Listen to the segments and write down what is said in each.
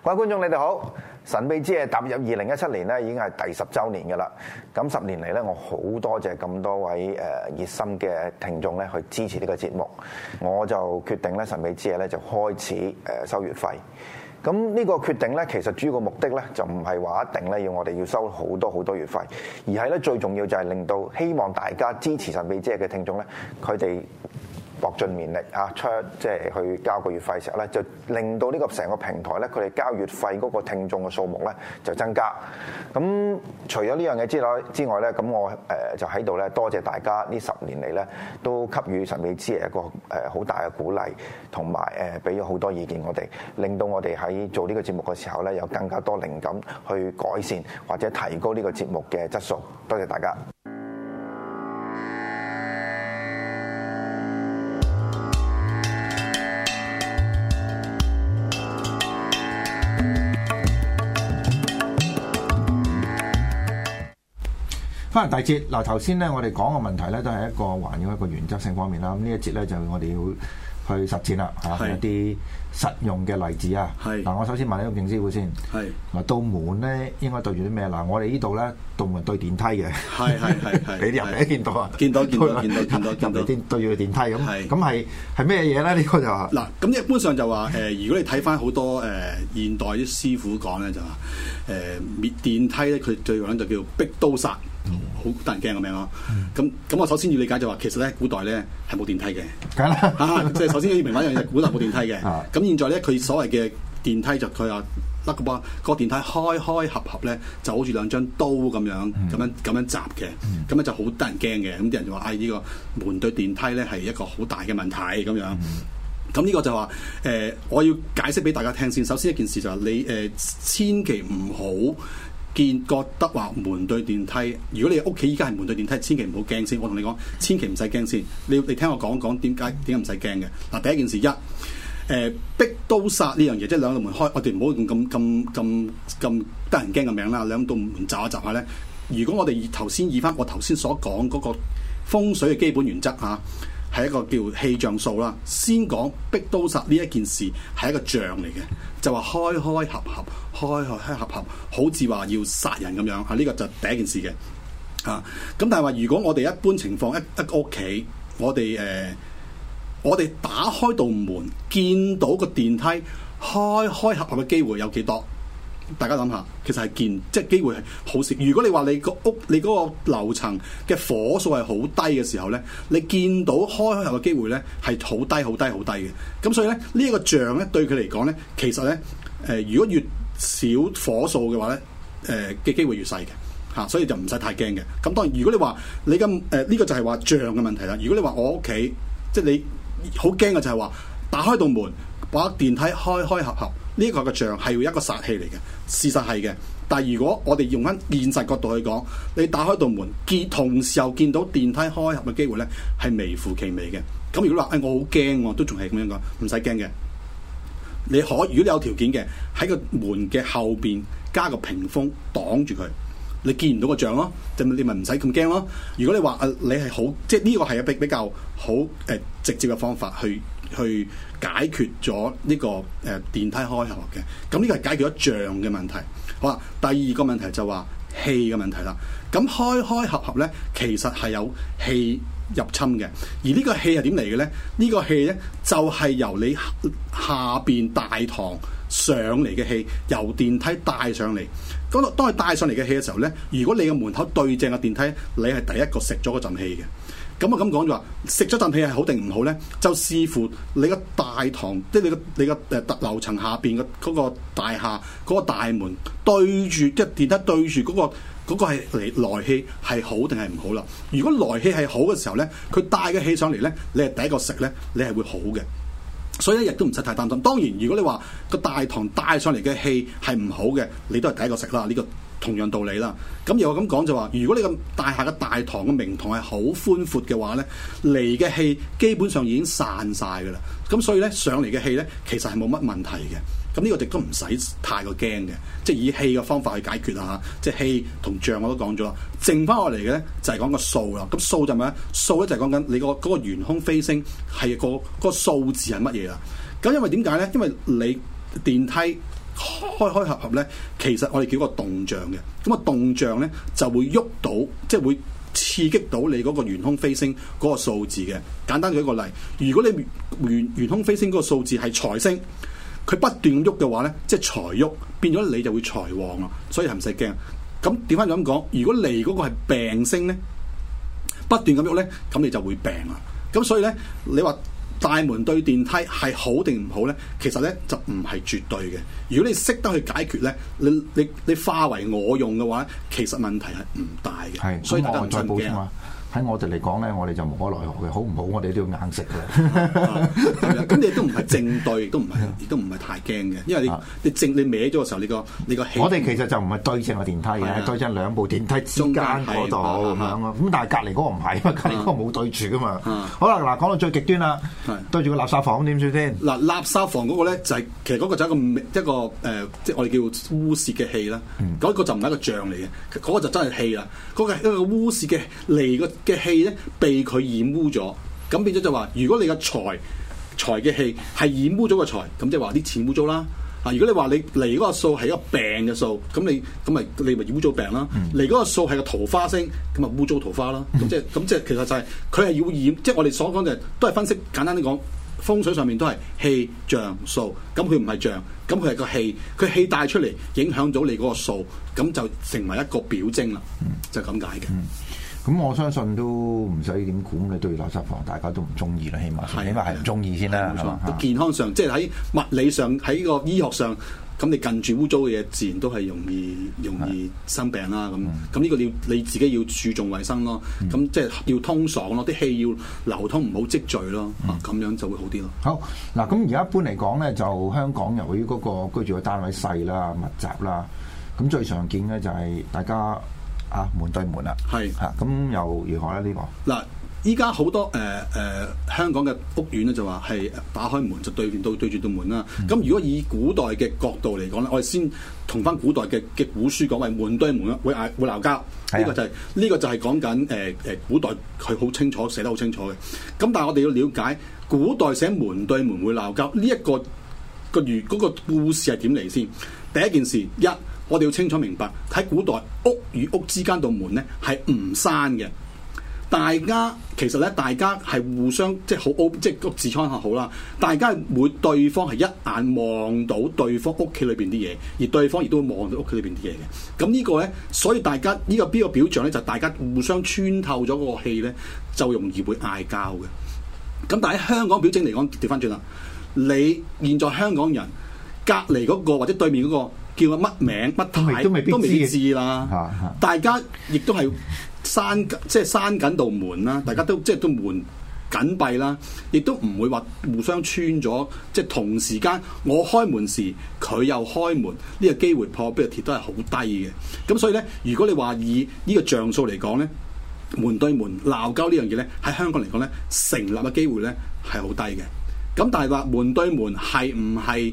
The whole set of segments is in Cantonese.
各位觀眾，你哋好！神秘之夜踏入2017年咧，已經係第10週年嘅啦。咁10年嚟咧，我好多謝咁多位熱心嘅聽眾咧去支持呢個節目，我就決定咧神秘之夜咧就開始收月費。咁呢個決定咧，其實主要個目的咧就唔係話一定咧要我哋要收好多月費，而係咧最重要就係令到希望大家支持神秘之夜嘅聽眾咧，佢哋搏盡綿力啊，即係去交個月費嘅時候咧，就令到呢個成個平台咧，佢哋交月費嗰個聽眾嘅數目咧就增加。咁除咗呢樣嘢之外咧，咁我就喺度咧多謝大家呢10年嚟咧都給予神秘之夜一個好大嘅鼓勵，同埋俾咗好多意見我哋，令到我哋喺做呢個節目嘅時候咧有更加多靈感去改善或者提高呢個節目嘅質素。多謝大家。 翻嚟第節嗱，頭先咧我哋講嘅問題咧都係一個環繞一個原則性方面啦。咁呢一節咧就我哋要去實踐啦，嚇一啲實用嘅例子啊。嗱，我首先問你個勁師傅先。嗱，道門咧應該對住啲咩？嗱，我哋呢度咧道門對電梯嘅。係。你啲人未見到啊？見到。入嚟對住個電梯咁。咁係咩嘢咧？呢個就話嗱，咁一般上就話如果你睇翻好多現代啲師傅講咧，就話滅電梯咧，佢最講就叫逼刀煞。好得人驚個名咯，咁我首先要理解就話，其實咧古代咧係冇電梯嘅，即係首先要明白一樣嘢，古代冇電梯嘅。咁現在咧佢所謂嘅電梯就佢話甩個波，個電梯開合咧就好似兩張刀咁樣閘嘅，咁咧就好得人驚嘅。咁啲人就話：呢個門對電梯咧係一個好大嘅問題咁樣。咁呢個就話我要解釋俾大家聽先。首先一件事就係你千祈唔好覺得話門對電梯，如果你屋企依家係門對電梯，千祈唔好驚先。我同你講，千祈唔使驚先。你聽我講講點解唔使驚嘅。嗱，第一件事逼刀煞呢樣嘢，即係兩道門開，我哋唔好用咁得人驚嘅名啦。兩道門閘一閘下咧，如果我哋頭先以翻我頭先所講嗰個風水嘅基本原則嚇，係一個叫氣象數啦。先講逼刀煞呢一件事係一個象嚟嘅，就話開合合，好似話要殺人咁樣。呢個就第一件事嘅。咁但係話如果我哋一般情況一個屋企，我哋打開道門，見到個電梯開合嘅機會有幾多？大家諗下，其實係即係機會係好少。如果你話你個屋你嗰個樓層嘅火數係好低嘅時候咧，你見到開合嘅機會咧係好低嘅。咁所以咧呢一個象咧對佢嚟講咧，其實咧如果越少火數嘅話咧，嘅機會越細嘅，所以就唔使太驚嘅。咁當然如果你話你咁呢個就係話象嘅問題啦。如果你話我屋企即係你好驚嘅就係話打開道門，把電梯開合。呢個嘅象係要一個殺氣嚟嘅，事實係嘅。但係如果我哋用翻現實角度去講，你打開道門，同時又見到電梯開合嘅機會咧，係微乎其微嘅。咁如果話我好驚喎，都仲係咁樣講，唔使驚嘅。如果你有條件嘅，喺個門嘅後邊加個屏風擋住佢，你見唔到個象咯，就你咪唔使咁驚咯。如果你話你係好，即係呢個係比較好直接嘅方法去解決咗呢個電梯開合嘅。咁呢個係解決咗象嘅問題。好啦，第二個問題就話氣嘅問題啦。咁開合咧，其實係有氣入侵嘅。而呢個氣係點嚟嘅咧？呢個氣咧就係由你下邊大堂上嚟嘅氣，由電梯帶上嚟。當佢帶上嚟嘅氣嘅時候咧，如果你嘅門口對正個電梯，你係第一個食咗嗰陣氣嘅。咁我咁講就話，食咗陣氣係好定唔好咧？就視乎你個大堂，即係你個樓層下邊嘅嗰個大廈嗰個大門對住，即係電梯對住嗰個係來氣係好定係唔好啦？如果來氣係好嘅時候咧，佢帶嘅氣上嚟咧，你係第一個食咧，你係會好嘅。所以咧亦都唔使太擔心。當然，如果你話個大堂帶上嚟嘅氣係唔好嘅，你都係第一個食啦。呢個同樣道理啦。咁又咁講就話，如果你個大廈嘅大堂嘅明堂係好寬闊嘅話咧，嚟嘅氣基本上已經散晒㗎啦。咁所以咧上嚟嘅氣咧，其實係冇乜問題嘅。咁呢個亦都唔使太過驚嘅，即係以氣嘅方法去解決啦嚇。即係氣同象我都講咗啦，剩翻落嚟嘅咧就係講個數啦。咁數就係咩咧？數咧就係講緊你嗰個懸空飛星係個數字係乜嘢啦。咁因為點解咧？因為你電梯開合合咧，其實我哋叫個動脹嘅。咁啊動脹咧就會喐到，即係會刺激到你嗰個懸空飛星嗰個數字嘅。簡單舉一個例，如果你懸空飛星嗰個數字係財星，佢不斷咁喐嘅話咧，即係財喐，變咗你就會財旺咯。所以係唔使驚。咁調翻咁講，如果嚟嗰個係病星咧，不斷咁喐咧，咁你就會病啦。咁所以咧，你話大門對電梯係好定唔好咧？其實咧就唔係絕對嘅。如果你識得去解決咧，你化為我用嘅話，其實問題係唔大嘅。 係， 所以大家唔使再補充啊。喺我哋嚟講咧，我哋就無可奈何嘅，好唔好？我哋都要硬食嘅。 咁你都唔係正對，亦都唔係太驚嘅，因為你歪咗嘅時候，你個氣。 我哋其實就唔係對正個電梯嘅，係對正兩部電梯之間嗰度咁樣咯。咁但係隔離嗰個唔係，隔離嗰個冇對住噶嘛。好啦，嗱講到最極端啦，對住個垃圾房點算先？嗱， 垃圾房嗰個咧就係其實嗰個就係一個即係我哋叫污泄嘅氣啦。嗰個就唔係一個象嚟嘅，嗰個就真係氣啦。嗰個係一個污泄嘅嚟嘅氣咧被佢染污咗，咁變咗就話，如果你個財嘅氣係染污咗個財，咁即係話啲錢污糟啦。啊，如果你話你嚟嗰個數係一個病嘅數，咁你咪污糟病啦。嚟嗰個數係個桃花星，咁啊污糟桃花啦。咁即係其實就係佢係要染，即係我哋所講嘅都係分析，簡單啲講，風水上面都係氣象數，咁佢唔係象，咁佢係個氣，佢氣帶出嚟影響到你嗰個數，咁就成為一個表徵啦，就係咁解嘅。 咁我相信都唔使點估，你對垃圾房大家都唔中意啦，起碼係唔中意先啦。 健康上，即係喺物理上，喺個醫學上，咁你近住污糟嘅嘢，自然都係容易生病啦。咁呢個你自己要注重衞生咯。咁即係要通爽咯，啲氣要流通，唔好積聚咯。咁樣就會好啲咯。 好嗱，咁而家一般嚟講咧，就香港由於嗰個居住嘅單位細啦、密集啦，咁最常見咧就係大家。門對門啦，係嚇，咁又如何咧？呢個嗱，依家好多香港嘅屋苑咧，就話係打開門就對住道門啦。咁如果以古代嘅角度嚟講咧，我哋先同翻古代嘅古書講，為門對門會鬧交。呢個就係講緊古代佢好清楚寫得好清楚嘅。咁但係我哋要了解古代寫門對門會鬧交呢一個嗰個故事係點嚟先？第一件事我哋要清楚明白，喺古代屋與屋之間道門咧係唔閂嘅。其實大家係互相即係好，即係個痔瘡好啦。大家會對方係一眼望到對方屋企裏邊啲嘢，而對方亦都會望到屋企裏邊啲嘢嘅。咁呢個咧，所以大家呢個表象咧，就大家互相穿透咗嗰個氣咧，就容易會嗌交嘅。咁但係喺香港表徵嚟講，調翻轉啦，你現在香港人隔離嗰個或者對面嗰個。叫乜名乜牌都未必知啦，大家亦都係閂緊道門啦，大家都即係都門緊閉啦，亦都唔會話互相穿咗，即係同時間我開門時佢又開門，呢個機會破壁嘅鐵都係好低嘅。咁所以咧，如果你話以呢個像素嚟講咧，門對門鬧交呢樣嘢咧，喺香港嚟講咧，成立嘅機會咧係好低嘅。咁但係話門對門係唔係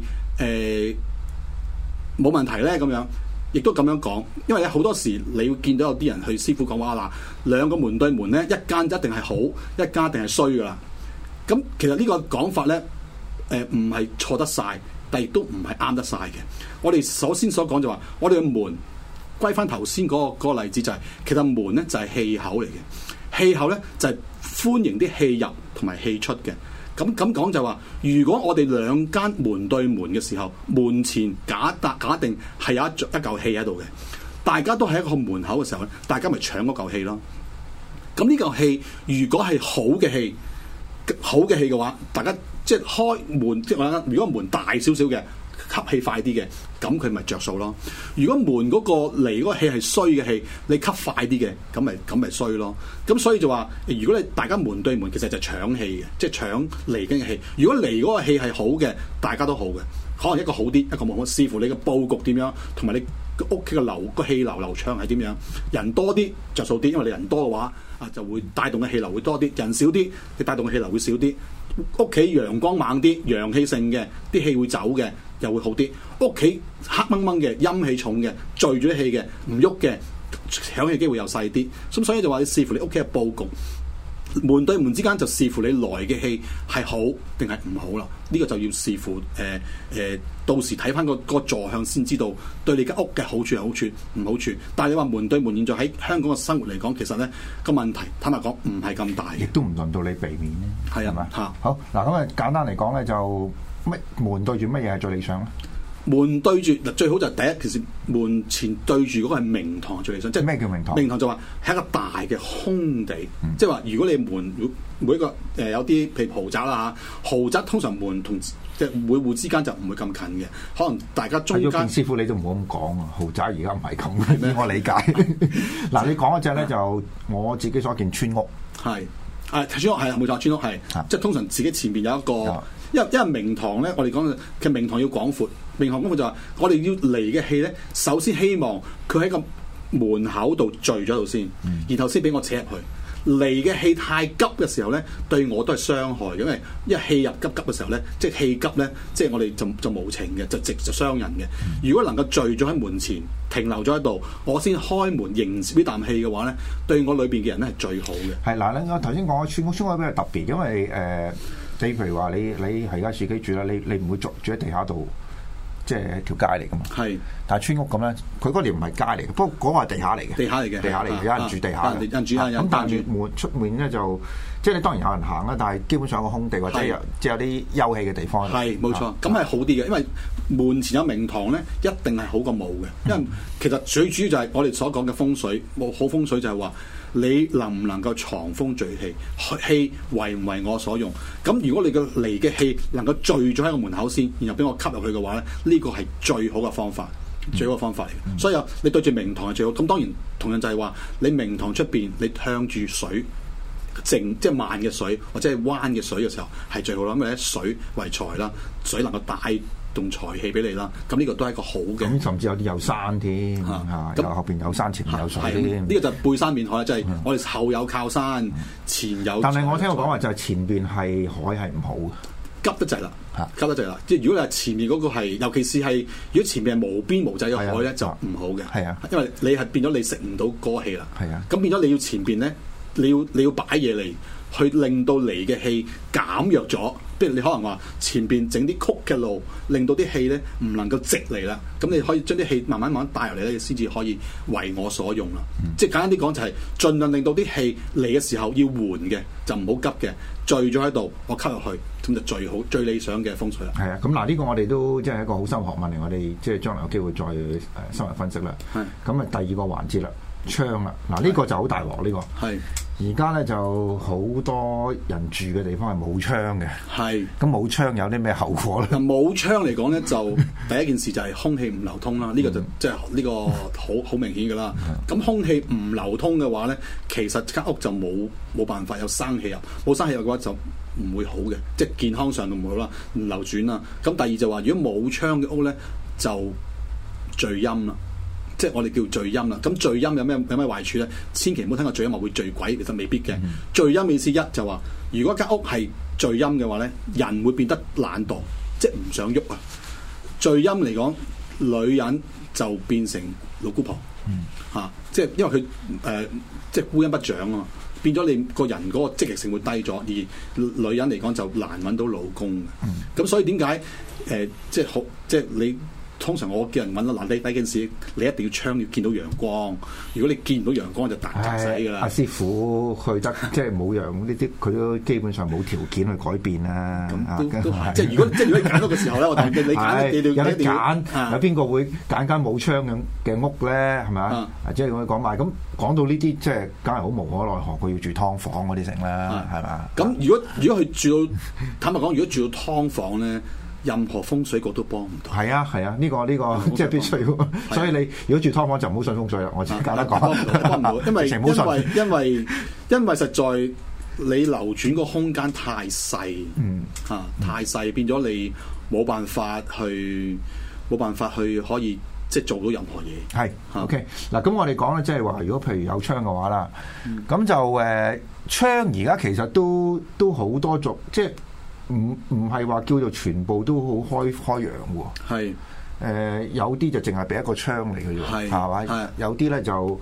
冇問題咧，咁樣亦都咁樣講，因為咧好多時你會見到有啲人去師傅講話嗱，兩個門對門咧，一間一定係好，一間一定係衰噶啦。咁其實呢個講法咧，唔係錯得晒，但亦都唔係啱得晒嘅。我哋首先所講就話，我哋嘅門歸翻頭先嗰個例子就係，其實門咧就係氣口嚟嘅，氣口咧就係歡迎啲氣入同埋氣出嘅。咁講就話，如果我哋兩間門對門嘅時候，門前假定係有一嚿氣喺度嘅，大家都喺一個門口嘅時候咧，大家咪搶嗰嚿氣咯。咁呢嚿氣如果係好嘅氣嘅話，大家即係開門，即係話如果門大少少嘅，吸氣快啲嘅，咁佢咪着數咯。如果門嗰個嚟嗰個氣係衰嘅氣，你吸快啲嘅，咁咪衰咯。咁所以就話，如果你大家門對門，其實就搶氣嘅，即係搶嚟緊嘅氣。如果嚟嗰個氣係好嘅，大家都好嘅，可能一個好啲，一個冇好，視乎你嘅佈局點樣，同埋你屋企嘅個氣流流暢係點樣。人多啲着數啲，因為你人多嘅話就會帶動嘅氣流會多啲；人少啲，你帶動嘅氣流會少啲。屋企陽光猛啲、陽氣盛嘅，啲氣會走嘅，又會好啲。屋企黑掹掹嘅、陰氣重嘅、聚咗啲氣嘅、唔喐嘅，搶氣機會又細啲。咁所以就話你視乎你屋企嘅佈局。 門對門之間就視乎你來嘅氣係好定係唔好啦。呢、這個就要視乎到時睇翻個坐向先知道對你間屋嘅好處係好處唔好處。但係你話門對門現在喺香港嘅生活嚟講，其實咧個問題坦白講唔係咁大， 亦都唔輪到你避免咧。 係啊嘛嚇。好嗱，咁啊簡單嚟講咧，就門對住乜嘢係最理想咧？ 門對住嗱，最好就係第一件事，門前對住嗰個係明堂最理想。即係咩叫明堂？ 明堂就話係一個大嘅空地，即係話如果你門每一個有啲譬如豪宅啦嚇，豪宅通常門同即係每戶之間就唔會咁近嘅，可能大家中間。 師傅你都唔好咁講啊！豪宅而家唔係咁嘅，以我理解。嗱，你講嗰隻咧就我自己所見村屋係村屋係冇錯，村屋係即係通常自己前邊有一個。因為明堂咧，我哋講嘅明堂要廣闊，明堂廣闊就話我哋要嚟嘅氣咧，首先希望佢喺個門口度聚咗度先，然後先俾我扯入去。嚟嘅氣太急嘅時候咧，對我都係傷害嘅，因為氣入急嘅時候咧，即係氣急咧，即係我哋就無情嘅，就傷人嘅。如果能夠聚咗喺門前停留咗喺度，我先開門迎接呢啖氣嘅話咧，對我裏邊嘅人咧係最好嘅。 係嗱，我頭先講嘅村屋比較特別，因為你譬如話你係而家自己住啦，你唔會住喺地下度，即係條街嚟噶嘛。係，但係村屋咁咧，佢嗰條唔係街嚟嘅，不過嗰個係地下嚟嘅。地下嚟嘅，有人住地下嘅。咁但係門出面咧就，即係你當然有人行啦，但係基本上有個空地或者即係有啲休憩嘅地方。 係冇錯，咁係好啲嘅，因為門前有明堂咧，一定係好過冇嘅。因為其實最主要就係我哋所講嘅風水，冇好風水就係話。你能唔能夠藏風聚氣？氣為唔為我所用？咁如果你嘅嚟嘅氣能夠聚咗喺個門口先，然後俾我吸入去嘅話咧，呢個係最好嘅方法，最好嘅方法嚟嘅。所以你對住明堂係最好。咁當然同樣就係話，你明堂出邊你向住水靜，即係慢嘅水或者係彎嘅水嘅時候係最好啦。因為咧水為財啦，水能夠帶動財氣俾你啦，咁呢個都係一個好嘅。 咁甚至有啲有山添，咁後邊有山，前面有水添。 呢個就背山面海，即係我哋後有靠山，前有。 但係我聽我講話就係前邊係海係唔好嘅， 急得滯啦，急得滯啦。即係如果你係前面嗰個係，尤其是係如果前面係無邊無際嘅海咧，就唔好嘅。係啊，因為你係變咗你食唔到嗰個氣啦。係啊，咁變咗你要前邊咧，你要擺嘢嚟去令到嚟嘅氣減弱咗。譬如你可能話前邊整啲曲嘅路，令到啲氣咧唔能夠直嚟啦，咁你可以將啲氣慢慢帶入嚟咧，先至可以為我所用啦。即係簡單啲講就係盡量令到啲氣嚟嘅時候要緩嘅，就唔好急嘅，聚咗喺度，我吸入去，咁就最好最理想嘅風水啦。係啊， 咁嗱呢個我哋都即係一個好深學問嚟，我哋即係將來有機會再深入分析啦。係，咁啊第二個環節啦。窗啦，嗱呢個就好大鑊呢個。係，而家咧就好多人住嘅地方係冇窗嘅。係，咁冇窗有啲咩後果咧？ 冇窗嚟講咧，就第一件事就係空氣唔流通啦。呢個就即係呢個好明顯噶啦。咁空氣唔流通嘅話咧，其實間屋就冇辦法有生氣入，冇生氣入嘅話就唔會好嘅，即係健康上都唔好啦，唔流轉啦。咁第二就話，如果冇窗嘅屋咧，就聚陰啦。即係我哋叫聚陰啦，咁聚陰有咩壞處咧？千祈唔好聽過聚陰話會聚鬼，其實未必嘅。聚陰意思一就話，如果間屋係聚陰嘅話咧，人會變得懶惰，即係唔想喐啊。聚陰嚟講，女人就變成老姑婆，即係因為佢即係孤陰不長啊嘛，變咗你個人嗰個積極性會低咗，而女人嚟講就難揾到老公嘅。咁所以點解即係好即係你？通常我叫人揾到嗱，第一件事你一定要窗要見到陽光。如果你見唔到陽光就大窒死㗎啦。阿師傅去得即係冇陽呢啲，佢都基本上冇條件去改變啦。 咁都即係如果你揀到嘅時候咧，我同你揀，你有得揀，有邊個會揀間冇窗嘅屋咧？係咪啊？即係我講埋咁講到呢啲，即係梗係好無可奈何，佢要住劏房嗰啲成啦，係嘛？ 咁如果佢住到坦白講，如果住到劏房咧。任何風水局都幫唔到。係啊，呢個即係必須。所以你如果住劏房就唔好信風水啦。我自己簡單講， 幫唔到，因為實在你流轉個空間太細，太細變咗你冇辦法去可以即係做到任何嘢。係 OK 嗱，咁我哋講咧，即係話如果譬如有窗嘅話啦，咁就窗而家其實都好多種，即係。唔係話叫做全部都好開揚喎，係有啲就淨係俾一個窗嚟嘅啫，係嘛？有啲咧就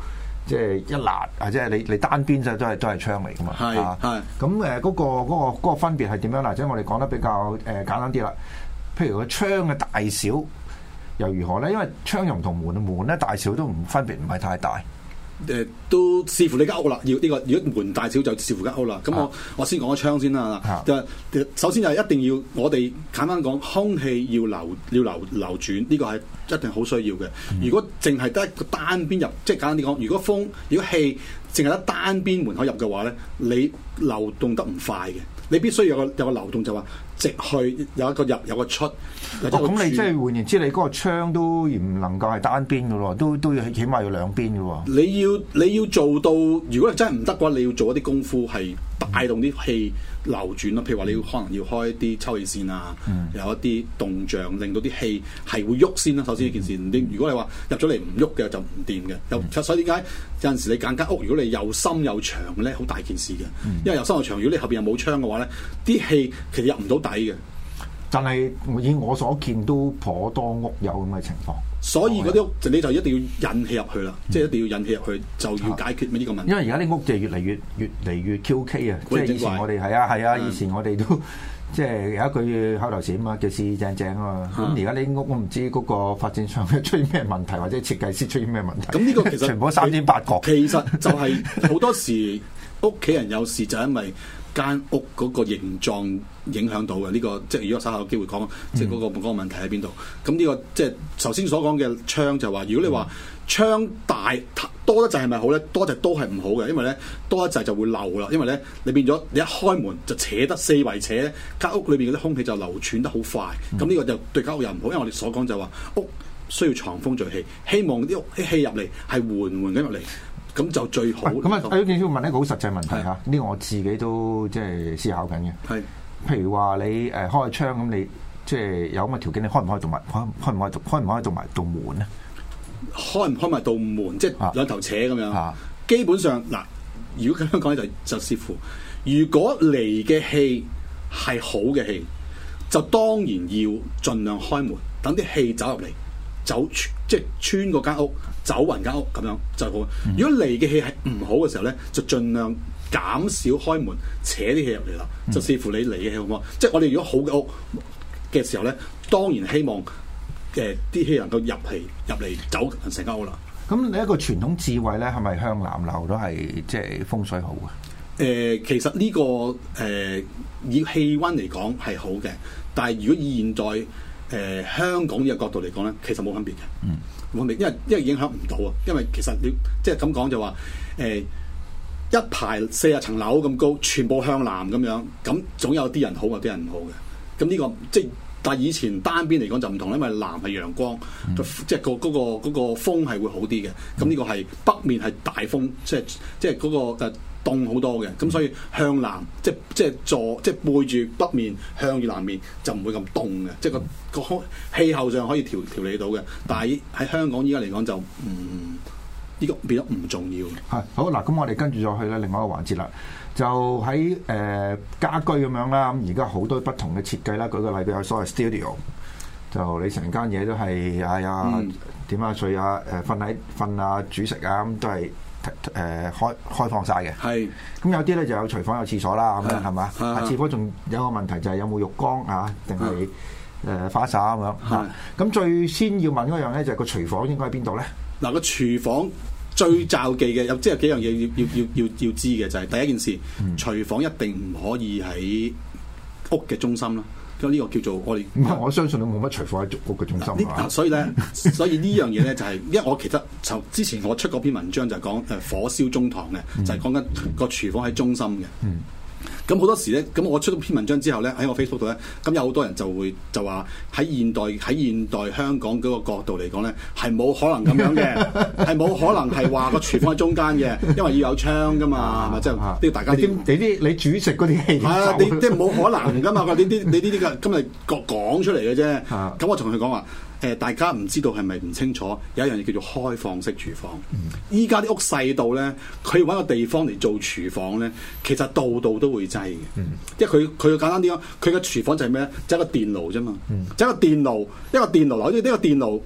即係一辣啊！即係你單邊就都係槍嚟噶嘛。 係咁嗰個分別係點樣啦？即係我哋講得比較簡單啲啦。譬如個槍嘅大小又如何咧？因為槍又唔同門咧大小都唔分別唔係太大。 都視乎你間屋啦，要呢個如果門大小就視乎間屋啦。咁我先講個槍先啦。首先就係一定要我哋簡單講，空氣要流轉，呢個係一定好需要嘅。如果淨係得一個單邊入，即係簡單啲講，如果氣淨係得單邊門口入嘅話咧，你流動得唔快嘅。你必須有個流動，就話直去有一個入有個出。 咁你即係換言之，你嗰個槍都唔能夠係單邊嘅喎，都要起碼要兩邊嘅喎。 你要做到，如果你真係唔得嘅話，你要做一啲功夫係帶動啲氣流轉咯。譬如話你可能要開一啲抽氣扇啊，有一啲動像，令到啲氣係會喐先啦。首先呢件事，如果你話入咗嚟唔喐嘅就唔掂嘅。所以點解有陣時你揀間屋，如果你又深又長咧，好大件事嘅。因為又深又長，如果你後邊又冇窗嘅話咧，啲氣其實入唔到底嘅。 但係以我所見都頗多屋有咁嘅情況， 所以嗰啲屋你就一定要引氣入去啦，即係一定要引氣入去，就要解決呢個問題。 因為而家啲屋就越嚟越 QK 啊，即係以前我哋係啊，以前我哋都即係有一句口頭禪啊嘛，叫四正正啊嘛。咁而家啲屋我唔知嗰個發展商出現咩問題，或者設計師出現咩問題。 咁呢個其實全部三尖八角。 其實就係好多時屋企人有事就係因為間屋嗰個形狀影響到嘅呢個，即係如果稍後有機會講，即係嗰個問題喺邊度？咁呢個即係頭先所講嘅窗就話，如果你話窗大多得滯係咪好咧？多得滯都係唔好嘅，因為咧多得滯就會漏啦。因為咧你變咗你一開門就扯得四圍扯，間屋裏邊嗰啲空氣就流轉得好快。咁呢個就對間屋又唔好，因為我哋所講就話屋需要藏風聚氣，希望啲氣入嚟係緩緩咁入嚟。咁就最好。 咁啊，我想問一個好實際問題嚇，呢個我自己都即係思考緊嘅。係，譬如話你開窗咁，你即係有咁嘅條件，你開唔開到埋道門咧？開唔開埋道門，即係兩頭扯咁樣。基本上嗱，如果咁樣講咧，就視乎，如果嚟嘅氣係好嘅氣，就當然要盡量開門，等啲氣走入嚟。即係穿過間屋，走勻間屋咁樣就好。如果嚟嘅氣係唔好嘅時候咧，就盡量減少開門，扯啲氣入嚟啦。就視乎你嚟嘅氣好唔好。即係我哋如果好嘅屋嘅時候咧，當然希望啲氣能夠入嚟走成間屋啦。咁你一個傳統智慧咧，係咪向南流都係即係風水好嘅？其實呢個以氣温嚟講係好嘅，但係如果以現代香港呢個角度嚟講咧，其實冇分別嘅，冇分別，因為影響唔到啊。因為其實你即係咁講就話，一排40層樓咁高，全部向南咁樣，咁總有啲人好，有啲人唔好嘅。咁呢個即係，但係以前單邊嚟講就唔同，因為南係陽光，即係嗰個風係會好啲嘅。咁呢個係北面係大風，即係嗰個凍好多嘅，咁所以向南即係背住北面向住南面就唔會咁凍嘅，即係個氣候上可以調理到嘅。但係喺香港依家嚟講就呢個變得唔重要。係好嗱，咁我哋跟住再去咧另外一個環節啦，就喺家居咁樣啦。咁而家好多不同嘅設計啦，舉個例，譬如所謂 studio， 就你成間嘢都係點啊睡啊瞓啊煮食啊咁都係。開放晒嘅，係咁有啲咧就有廚房有廁所啦，咁樣係嘛？廁所仲有個問題就係有冇浴缸啊，定係花灑咁樣嚇？咁最先要問嗰樣咧就係個廚房應該喺邊度咧？嗱，個廚房最罩忌嘅有即係幾樣嘢要知嘅就係第一件事，廚房一定唔可以喺屋嘅中心啦。呢個叫做我哋，我相信都冇乜廚房喺屋嘅中心所以呢樣嘢咧就係，因為我其實之前我出嗰篇文章就係講火燒中堂嘅，就係講緊個廚房喺中心嘅。咁好多時咧，咁我出咗篇文章之後咧，喺我 Facebook 度咧，咁有好多人就話喺現代香港嗰個角度嚟講咧，係冇可能咁樣嘅，係冇可能係話個廚房喺中間嘅，因為要有窗噶嘛，係咪？即係呢個大家你煮食嗰啲氣係啊，你即係冇可能噶嘛？你呢啲嘅今日講出嚟嘅啫。咁我同佢講話。大家唔知道係咪唔清楚？有一樣嘢叫做開放式廚房。依家啲屋細到咧，佢揾個地方嚟做廚房咧，其實度都會擠嘅。因為佢簡單啲講，佢嘅廚房就係咩咧？就係一個電爐啫嘛。就一個電爐，呢個電爐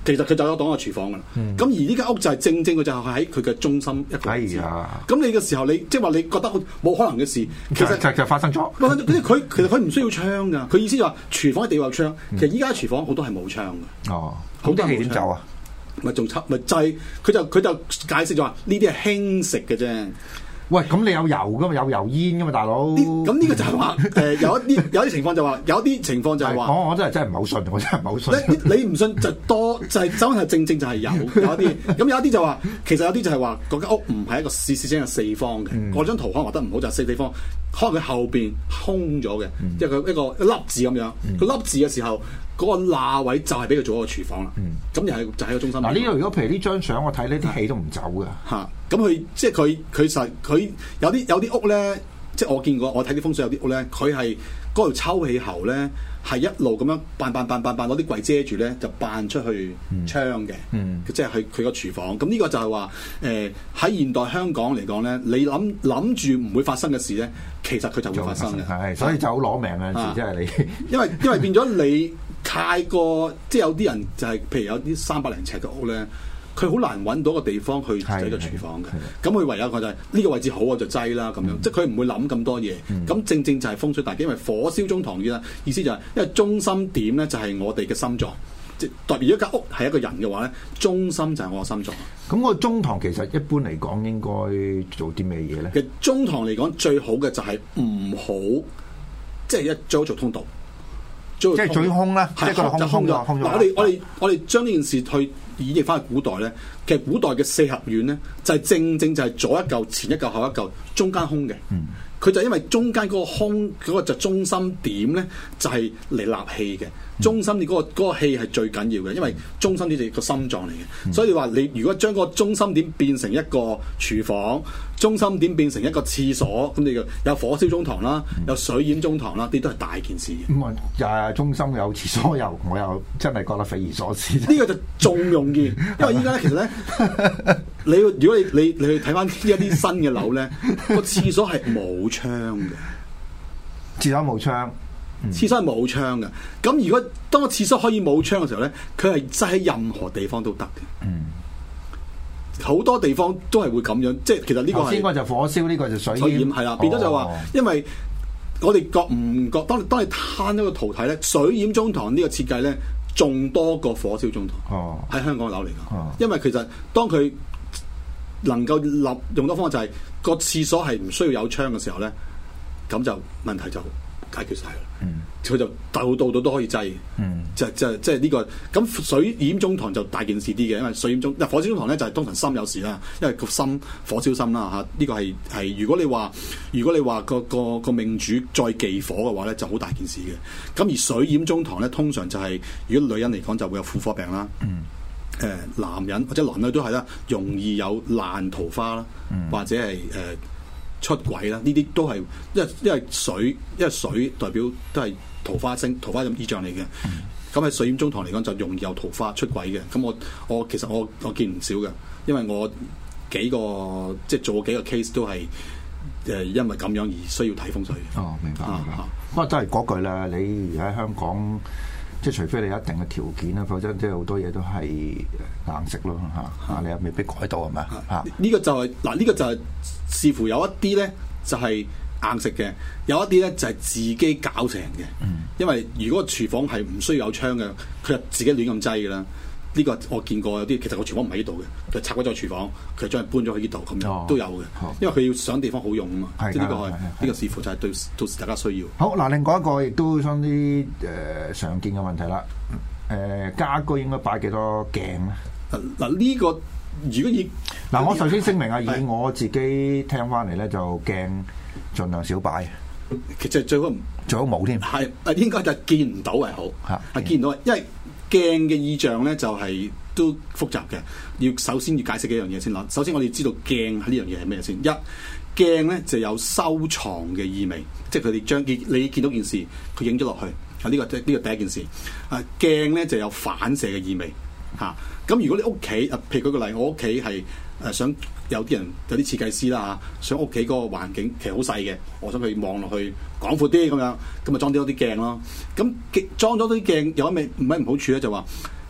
其實佢就有當個廚房噶啦。咁而呢間屋就係正佢就係喺佢嘅中心一個位置。咁你嘅時候，你即係話你覺得冇可能嘅事，其實就發生咗。 其實佢唔需要窗噶。佢意思就話廚房一定要有窗。其實依家廚房好多係冇窗嘅。 哦， 好多氣點走啊？ 咪仲插咪制？佢就解釋咗話呢啲係輕食嘅啫。 喂，咁你有油噶嘛？有油煙噶嘛，大佬？ 咁呢個就係話有啲情況就話，有啲情況就係話， 我真係唔係好信，我真係唔係好信。 你唔信就多就係真係正就係有一啲，咁有一啲就話，其實有啲就係話嗰間屋唔係一個事實上係四方嘅。我張圖可能畫得唔好，就係四方，可能佢後邊空咗嘅，即係一個粒字咁樣。佢粒字嘅時候，嗰個罅位就係俾佢做一個廚房啦。咁又係就喺個中心。 嗱，呢度如果譬如呢張相我睇呢啲氣都唔走㗎。 嚇，咁佢即係佢有啲屋咧，即係我見過，我睇啲風水有啲屋咧，佢係嗰條抽氣喉咧係一路咁樣扮攞啲櫃遮住咧，就扮出去窗嘅。即係佢個廚房。咁呢個就係話喺現代香港嚟講咧，你諗住唔會發生嘅事咧，其實佢就會發生嘅。 係，所以就好攞命嘅事，即係你。 因為變咗你太過，即係有啲人就係譬如有啲300零尺嘅屋咧。佢好難揾到個地方去擠個廚房嘅，咁佢唯有佢就係呢個位置好我就擠啦咁樣，即係佢唔會諗咁多嘢。咁正就係風水大忌，因為火燒中堂嘅意思就係，因為中心點咧就係我哋嘅心臟，即係代表一間屋係一個人嘅話咧，中心就係我嘅心臟。 咁個中堂其實一般嚟講應該做啲咩嘢咧？ 其實中堂嚟講最好嘅就係唔好，即係最好做通道。 即係最空啦，即係個空咗。 我哋將呢件事去演繹翻去古代咧，其實古代嘅四合院咧，就係正就係左一嚿、前一嚿、後一嚿，中間空嘅。佢就因為中間嗰個空嗰個就中心點咧，就係嚟納氣嘅。中心你嗰個氣係最緊要嘅，因為中心點就係個心臟嚟嘅。所以你話你如果將嗰個中心點變成一個廚房，中心點變成一個廁所，咁你就有火燒中堂啦，有水淹中堂啦，啲都係大件事嘅。 咁啊，中心有廁所又，我又真係覺得匪夷所思。 呢個就仲容易，因為依家其實咧，如果你去睇翻一啲新嘅樓咧，個廁所係冇窗嘅， 廁所冇窗。 廁所係冇窗嘅，咁如果當個廁所可以冇窗嘅時候咧，佢係擠喺任何地方都得嘅。好多地方都係會咁樣，即係其實呢個係。 先個就火燒，呢個就水淹， 係啦，變咗就話，因為我哋覺唔覺？當你攤咗個圖睇咧，水淹中堂呢個設計咧，仲多過火燒中堂。喺香港樓嚟講，因為其實當佢能夠用到方法就係個廁所係唔需要有窗嘅時候咧，咁就問題就解決晒啦。佢就度度都可以擠。即係呢個咁水淹中堂就大件事啲嘅，因為水淹中火燒中堂咧就係通常心有事啦，因為個心火燒心啦嚇。呢個係如果你話個命主再忌火嘅話咧，就好大件事嘅。咁而水淹中堂咧，通常就係如果女人嚟講就會有婦科病啦。男人或者男女都係啦，容易有爛桃花啦，或者係出軌啦，呢啲都係因為水代表都係桃花星、桃花咁意象嚟嘅。咁喺水淹中堂嚟講就容易有桃花出軌嘅。咁我其實我見唔少嘅，因為我幾個即係做過幾個 case 都係因為咁樣而需要睇風水。 哦，明白。不過都係嗰句啦，你而喺香港，即係除非你有一定嘅條件啦，否則即係好多嘢都係硬食咯嚇。你又未必改到係咪啊？ 呢個就係呢個就係視乎有一啲咧就係硬食嘅，有一啲咧就係自己搞成嘅。因為如果廚房係唔需要有窗嘅，佢就自己亂咁擠㗎啦。呢個我見過有啲，其實個廚房唔喺呢度嘅，佢拆咗個廚房，佢將佢搬咗去呢度咁樣都有嘅。因為佢要想地方好用啊嘛。即係呢個係呢個視乎就係對到時大家需要。好嗱，另外一個亦都相啲常見嘅問題啦。家居應該擺幾多鏡咧？ 嗱呢個如果以我首先聲明啊，以我自己聽翻嚟咧，就鏡盡量少擺。 其實最好冇添。 係應該就見唔到係好。係見唔到，因為鏡嘅意象咧就係都複雜嘅。首先要解釋幾樣嘢先啦。首先我哋知道鏡喺呢樣嘢係咩先？鏡咧就有收藏嘅意味，即係佢哋將你見到件事，佢影咗落去。呢個第一件事。鏡咧就有反射嘅意味。咁如果你屋企譬如舉個例，我屋企係想有啲人有啲設計師啦想屋企嗰個環境其實好細嘅，我想佢望落去廣闊啲咁樣，咁咪裝多啲鏡咯。咁裝咗啲鏡有咩唔好處咧？就話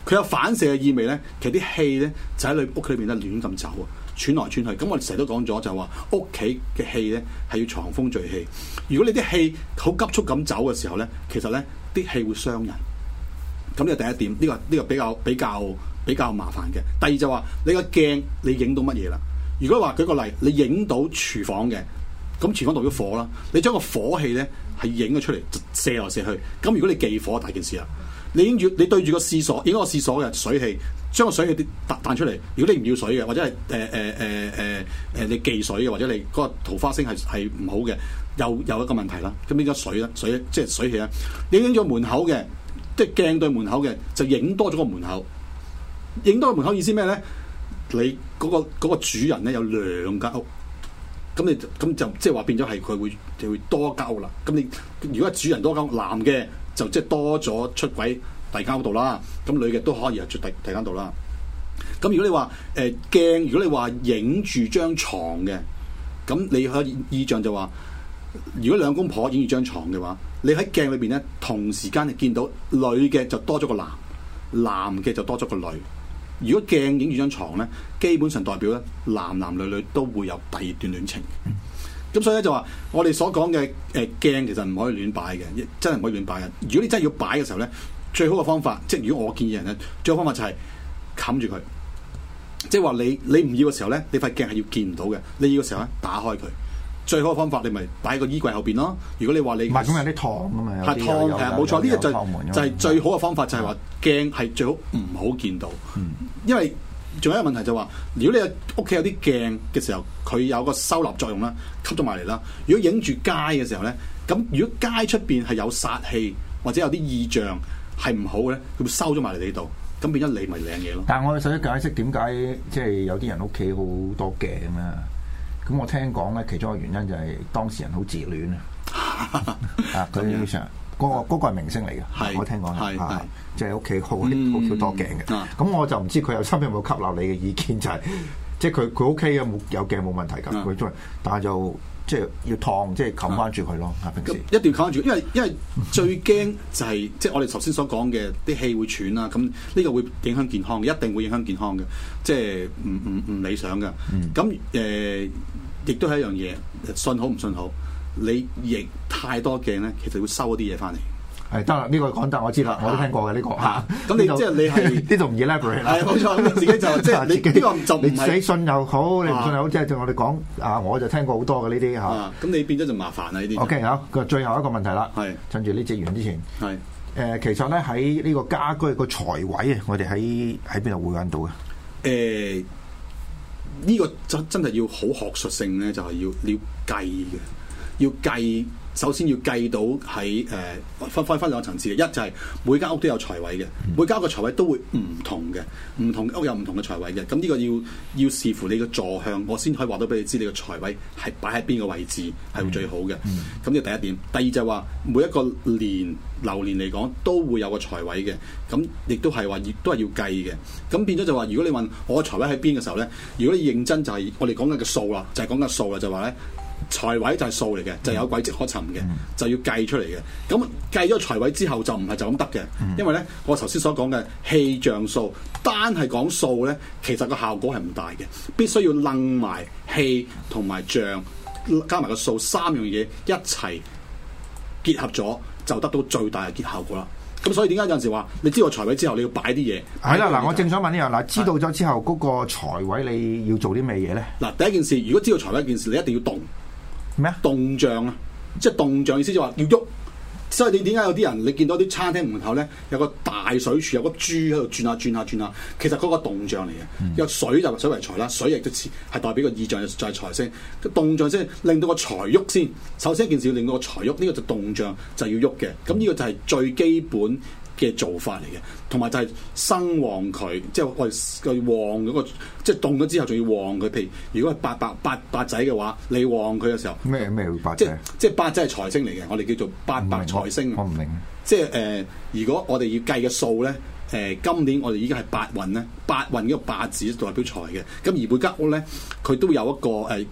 佢有反射嘅意味咧，其實啲氣咧就喺你屋企裏邊咧亂咁走啊，傳來傳去。咁我哋成日都講咗就係話屋企嘅氣咧係要藏風聚氣。如果你啲氣好急速咁走嘅時候咧，其實咧啲氣會傷人。咁呢個第一點，呢個比較麻煩嘅。第二就話你個鏡你影到乜嘢啦？如果話舉個例，你影到廚房嘅，咁廚房代表火啦，你將個火氣咧係影咗出嚟，射來射去。咁如果你忌火，大件事啦。你對住個廁所，影個廁所嘅水氣，將個水氣彈出嚟。如果你唔要水嘅，或者係你忌水嘅，或者你嗰個桃花星係唔好嘅，又有一個問題啦。咁變咗水啦，水即係水氣啦。你影咗門口嘅。即係鏡對門口嘅，就影多咗個門口。影多個門口意思咩咧？你嗰個主人咧有兩間屋，咁就即係話變咗係佢就會多間屋啦。咁你如果係主人多間屋，男嘅就即係多咗出軌第二間屋度啦。咁女嘅都可以係出第二間度啦。咁如果你話鏡，如果你話影住張床嘅，咁你可以意象就話。如果兩公婆影住張床嘅話，你喺鏡裏邊咧，同時間見到女嘅就多咗個男，男嘅就多咗個女。如果鏡影住張床咧，基本上代表咧男男女女都會有第二段戀情。咁所以咧就話，我哋所講嘅鏡其實唔可以亂擺嘅，真係唔可以亂擺嘅。如果你真係要擺嘅時候咧，最好嘅方法，即係如果我建議人咧，最好方法就係冚住佢。即係話你唔要嘅時候咧，你塊鏡係要見唔到嘅。你要嘅時候咧，打開佢。最好嘅方法，你咪擺喺個衣櫃後邊咯。如果你話你唔係咁有啲燙㗎嘛， 係燙係冇錯，呢個就係最好嘅方法，就係話鏡係最好唔好見到。因為仲有一個問題就係話，如果你屋企有啲鏡嘅時候，佢有個收納作用啦，吸咗埋嚟啦。如果影住街嘅時候咧，咁如果街出邊係有煞氣或者有啲異象係唔好嘅咧，佢會收咗埋嚟你度，咁變咗你咪靚嘢咯。 但係我哋想解釋點解即係有啲人屋企好多鏡啊？咁我聽講咧，其中一個原因就係當事人好自戀啊！啊，佢成嗰個係明星嚟嘅，我聽講即係屋企好多鏡嘅。咁我就唔知佢有心有冇吸納你嘅意見，就係即係佢屋企有鏡冇問題㗎，佢中意，但係就即係要燙，即係冚翻住佢咯。平時一定要冚住，因為最驚就係即係我哋頭先所講嘅啲氣會喘啦，咁呢個會影響健康嘅，一定會影響健康嘅，即係唔理想嘅。咁亦都係一樣嘢，信好唔信好，你亦太多鏡咧，其實會收一啲嘢翻嚟。 係得啦，呢個講得我知啦，我都聽過嘅呢個嚇。 咁你即係你係呢度唔 elaborate 啦。係冇錯，咁自己就即係你呢個就唔係你信又好，你唔信又好，即係我哋講啊，我就聽過好多嘅呢啲嚇。 咁你變咗就麻煩啦呢啲。 OK，好，個最後一個問題啦。係趁住呢節完之前。係其實咧喺呢個家居個財位啊，我哋喺邊度會揾到嘅？ 呢個真係要好學術性咧，就係要計嘅，要計。首先要計到喺分兩個層次嘅，一就係每間屋都有財位嘅，每間屋嘅財位都會唔同嘅，唔同屋有唔同嘅財位嘅。咁呢個要視乎你嘅坐向，我先可以話到俾你知你嘅財位係擺喺邊個位置係會最好嘅。咁呢個第一點。第二就係話每一個流年嚟講都會有個財位嘅，咁亦都係話都係要計嘅。咁變咗就話，如果你問我嘅財位喺邊嘅時候咧，如果你認真就係我哋講緊嘅數啦，就係講緊數啦，就話咧。財位就係數嚟嘅，就有軌跡可尋嘅，就要計出嚟嘅。咁計咗財位之後就唔係就咁得嘅，因為咧我頭先所講嘅氣象數，單係講數咧，其實個效果係唔大嘅，必須要楞埋氣同埋象加埋個數三樣嘢一齊結合咗，就得到最大嘅結效果啦。咁所以點解有陣時話你知道財位之後你要擺啲嘢？ 係啦，嗱，我正想問呢樣，嗱，知道咗之後嗰個財位你要做啲咩嘢咧？ 嗱，第一件事，如果知道財位一件事，你一定要動。咩啊？動象啊，即係動象意思就話要喐。所以你點解有啲人你見到啲餐廳門口咧有個大水柱，有個豬喺度轉下轉下轉下，其實嗰個動象嚟嘅。有水就水為財啦，水亦都係代表個意象就係財星。動象先令到個財喐先。首先一件事要令到個財喐，呢個就動象就要喐嘅。咁呢個就係最基本嘅做法嚟嘅，同埋就係生旺佢，即係我哋旺嗰個，即係動咗之後仲要旺佢。譬如如果係八仔嘅話，你旺佢嘅時候咩會八仔？ 即係八仔係財星嚟嘅，我哋叫做八白財星。 我唔明。 即係如果我哋要計嘅數咧，今年我哋已經係八運咧，八運呢個八字代表財嘅。咁而每間屋咧，佢都有一個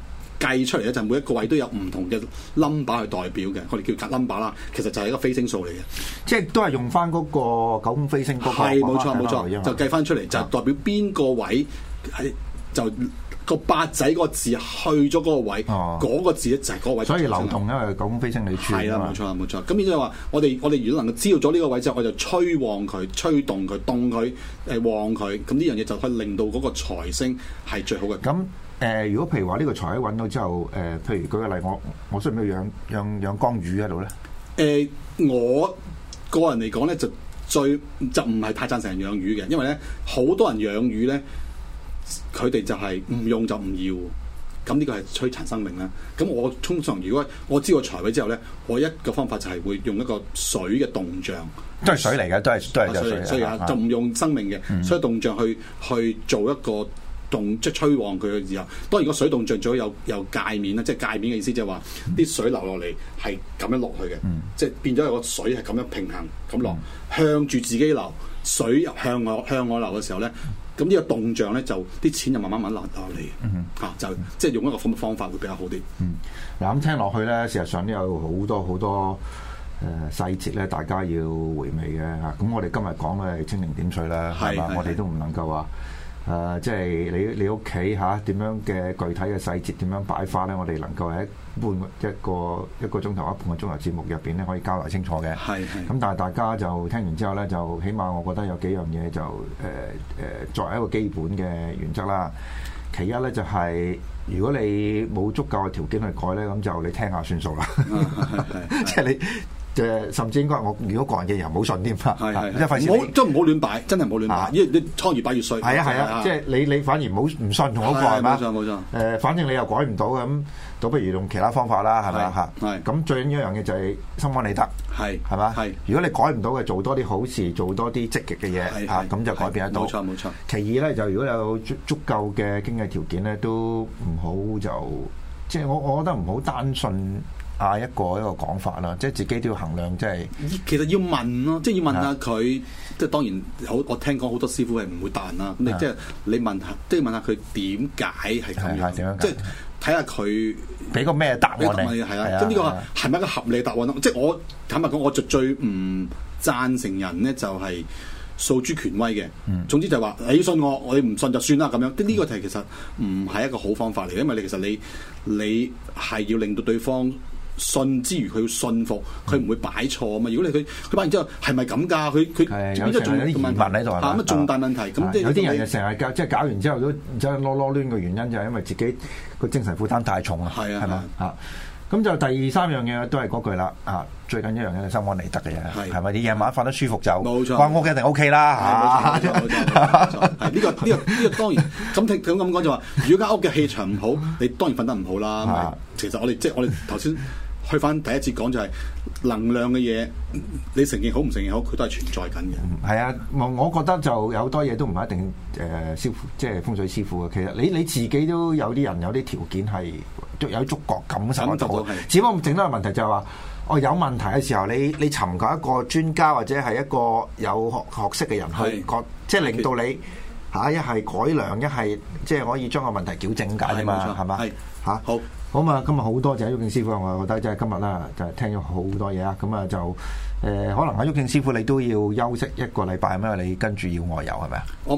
計出嚟咧，就每一個位都有唔同嘅 number 去代表嘅，我哋叫格 number 啦。其實就係一個飛星數嚟嘅， 即係都係用翻嗰個九宮飛星嗰個。 係冇錯，就計翻出嚟就代表邊個位係就。個八仔個字去咗嗰個位，嗰個字咧就係嗰個位。 所以流動因為九宮飛星你轉。係啦， 冇錯。咁變咗話，我哋如果能夠知道咗呢個位之後，我就吹旺佢、吹動佢、動佢、旺佢，咁呢樣嘢就可以令到嗰個財星係最好嘅。 咁如果譬如話呢個財位揾到之後，譬如舉個例，我需唔需要養江魚喺度咧？ 我個人嚟講咧，就唔係太贊成人養魚嘅，因為咧好多人養魚咧。佢哋就係唔用就唔要，咁呢個係摧殘生命啦。咁我通常如果我知道財位之後咧，我一個方法就係會用一個水嘅動像， 都係水嚟嘅，都係水， 所以就唔用生命嘅水動像去做一個即係吹旺佢嘅時候。當然個水動像最好有界面啦，即係界面嘅意思就係話啲水流落嚟係咁樣落去嘅，即係變咗有個水係咁樣平衡咁落，向住自己流，水向我流嘅時候咧。咁呢個動像咧，就啲錢就慢慢流落嚟，就即係用一個咁嘅方法會比較好啲。 嗱咁聽落去咧，事實上都有好多細節咧，大家要回味嘅嚇。咁我哋今日講咧係清零點水啦，係嘛？我哋都唔能夠話即係你屋企嚇點樣嘅具體嘅細節點樣擺花咧，我哋能夠喺一個鐘頭、半個鐘頭節目入邊咧，可以交代清楚嘅。咁但係大家就聽完之後咧，就起碼我覺得有幾樣嘢就作為一個基本嘅原則啦。其一咧就係如果你冇足夠嘅條件去改咧，咁就你聽下算數啦。即係你。甚至應該我如果個人嘅人唔好信添啊，即係費事唔好亂擺，真係唔好亂擺，因為你倉越擺越衰。 係啊，即係你反而唔信同我講係嘛？ 冇錯。 反正你又改唔到咁，倒不如用其他方法啦，係咪啊？咁最緊要一樣嘢就係心安理得，係嘛？如果你改唔到嘅，做多啲好事，做多啲積極嘅嘢嚇，咁就改變得到。 冇錯。 其二咧，就如果有足夠嘅經濟條件咧，都唔好就即係我覺得唔好單信。一個講法啦，即係自己都要衡量，即係其實要問咯，即係要問下佢，即係當然我聽講好多師傅係唔會彈啦，咁你即係你問下，即係問下佢點解係咁樣，即係睇下佢俾個咩答案你， 係啦，即係呢個係咪一個合理答案咯？即係我坦白講，我就最唔贊成人咧就係訴諸權威嘅，總之就係話你信我，你唔信就算啦咁樣。呢個題其實唔係一個好方法嚟，因為其實你係要令到對方。信之餘，佢要信服，佢唔會擺錯啊嘛！如果佢擺完之後係咪咁㗎？佢有啲疑問喺度係嘛？ 乜重大問題？咁有啲人就成日即係搞完之後都即係囉攣嘅原因就係因為自己個精神負擔太重啊！係嘛嚇？咁就第三樣嘢都係嗰句啦最緊一樣嘢係心安理得嘅嘢，係咪？你夜晚瞓得舒服就冇錯，間屋一定 OK 啦嚇！冇錯，係呢個當然咁講就話，如果間屋嘅氣場唔好，你當然瞓得唔好啦。其實我哋頭先去翻第一節講就係能量嘅嘢，你承認好唔承認好，佢都係存在緊嘅。係啊，我覺得就有好多嘢都唔係一定師傅即係風水師傅嘅。其實你自己都有啲人有啲條件係有觸覺感受到，只不過整多個問題就係話。有問題嘅時候，你尋求一個專家或者係一個有學識嘅人去即係令到你一係改良，一係即係可以將個問題矯正解啫嘛，係嘛？好嘛，今日好多謝毓証師傅，我覺得即係今日啦，就聽咗好多嘢啊，咁啊就可能阿毓証師傅你都要休息一個禮拜，因為你跟住要外遊係咪啊？我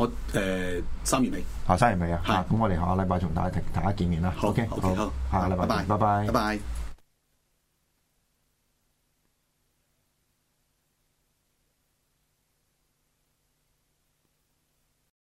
3月尾。3月尾啊，咁我哋下個禮拜同大家見面啦。OK，好，下個禮拜，拜拜。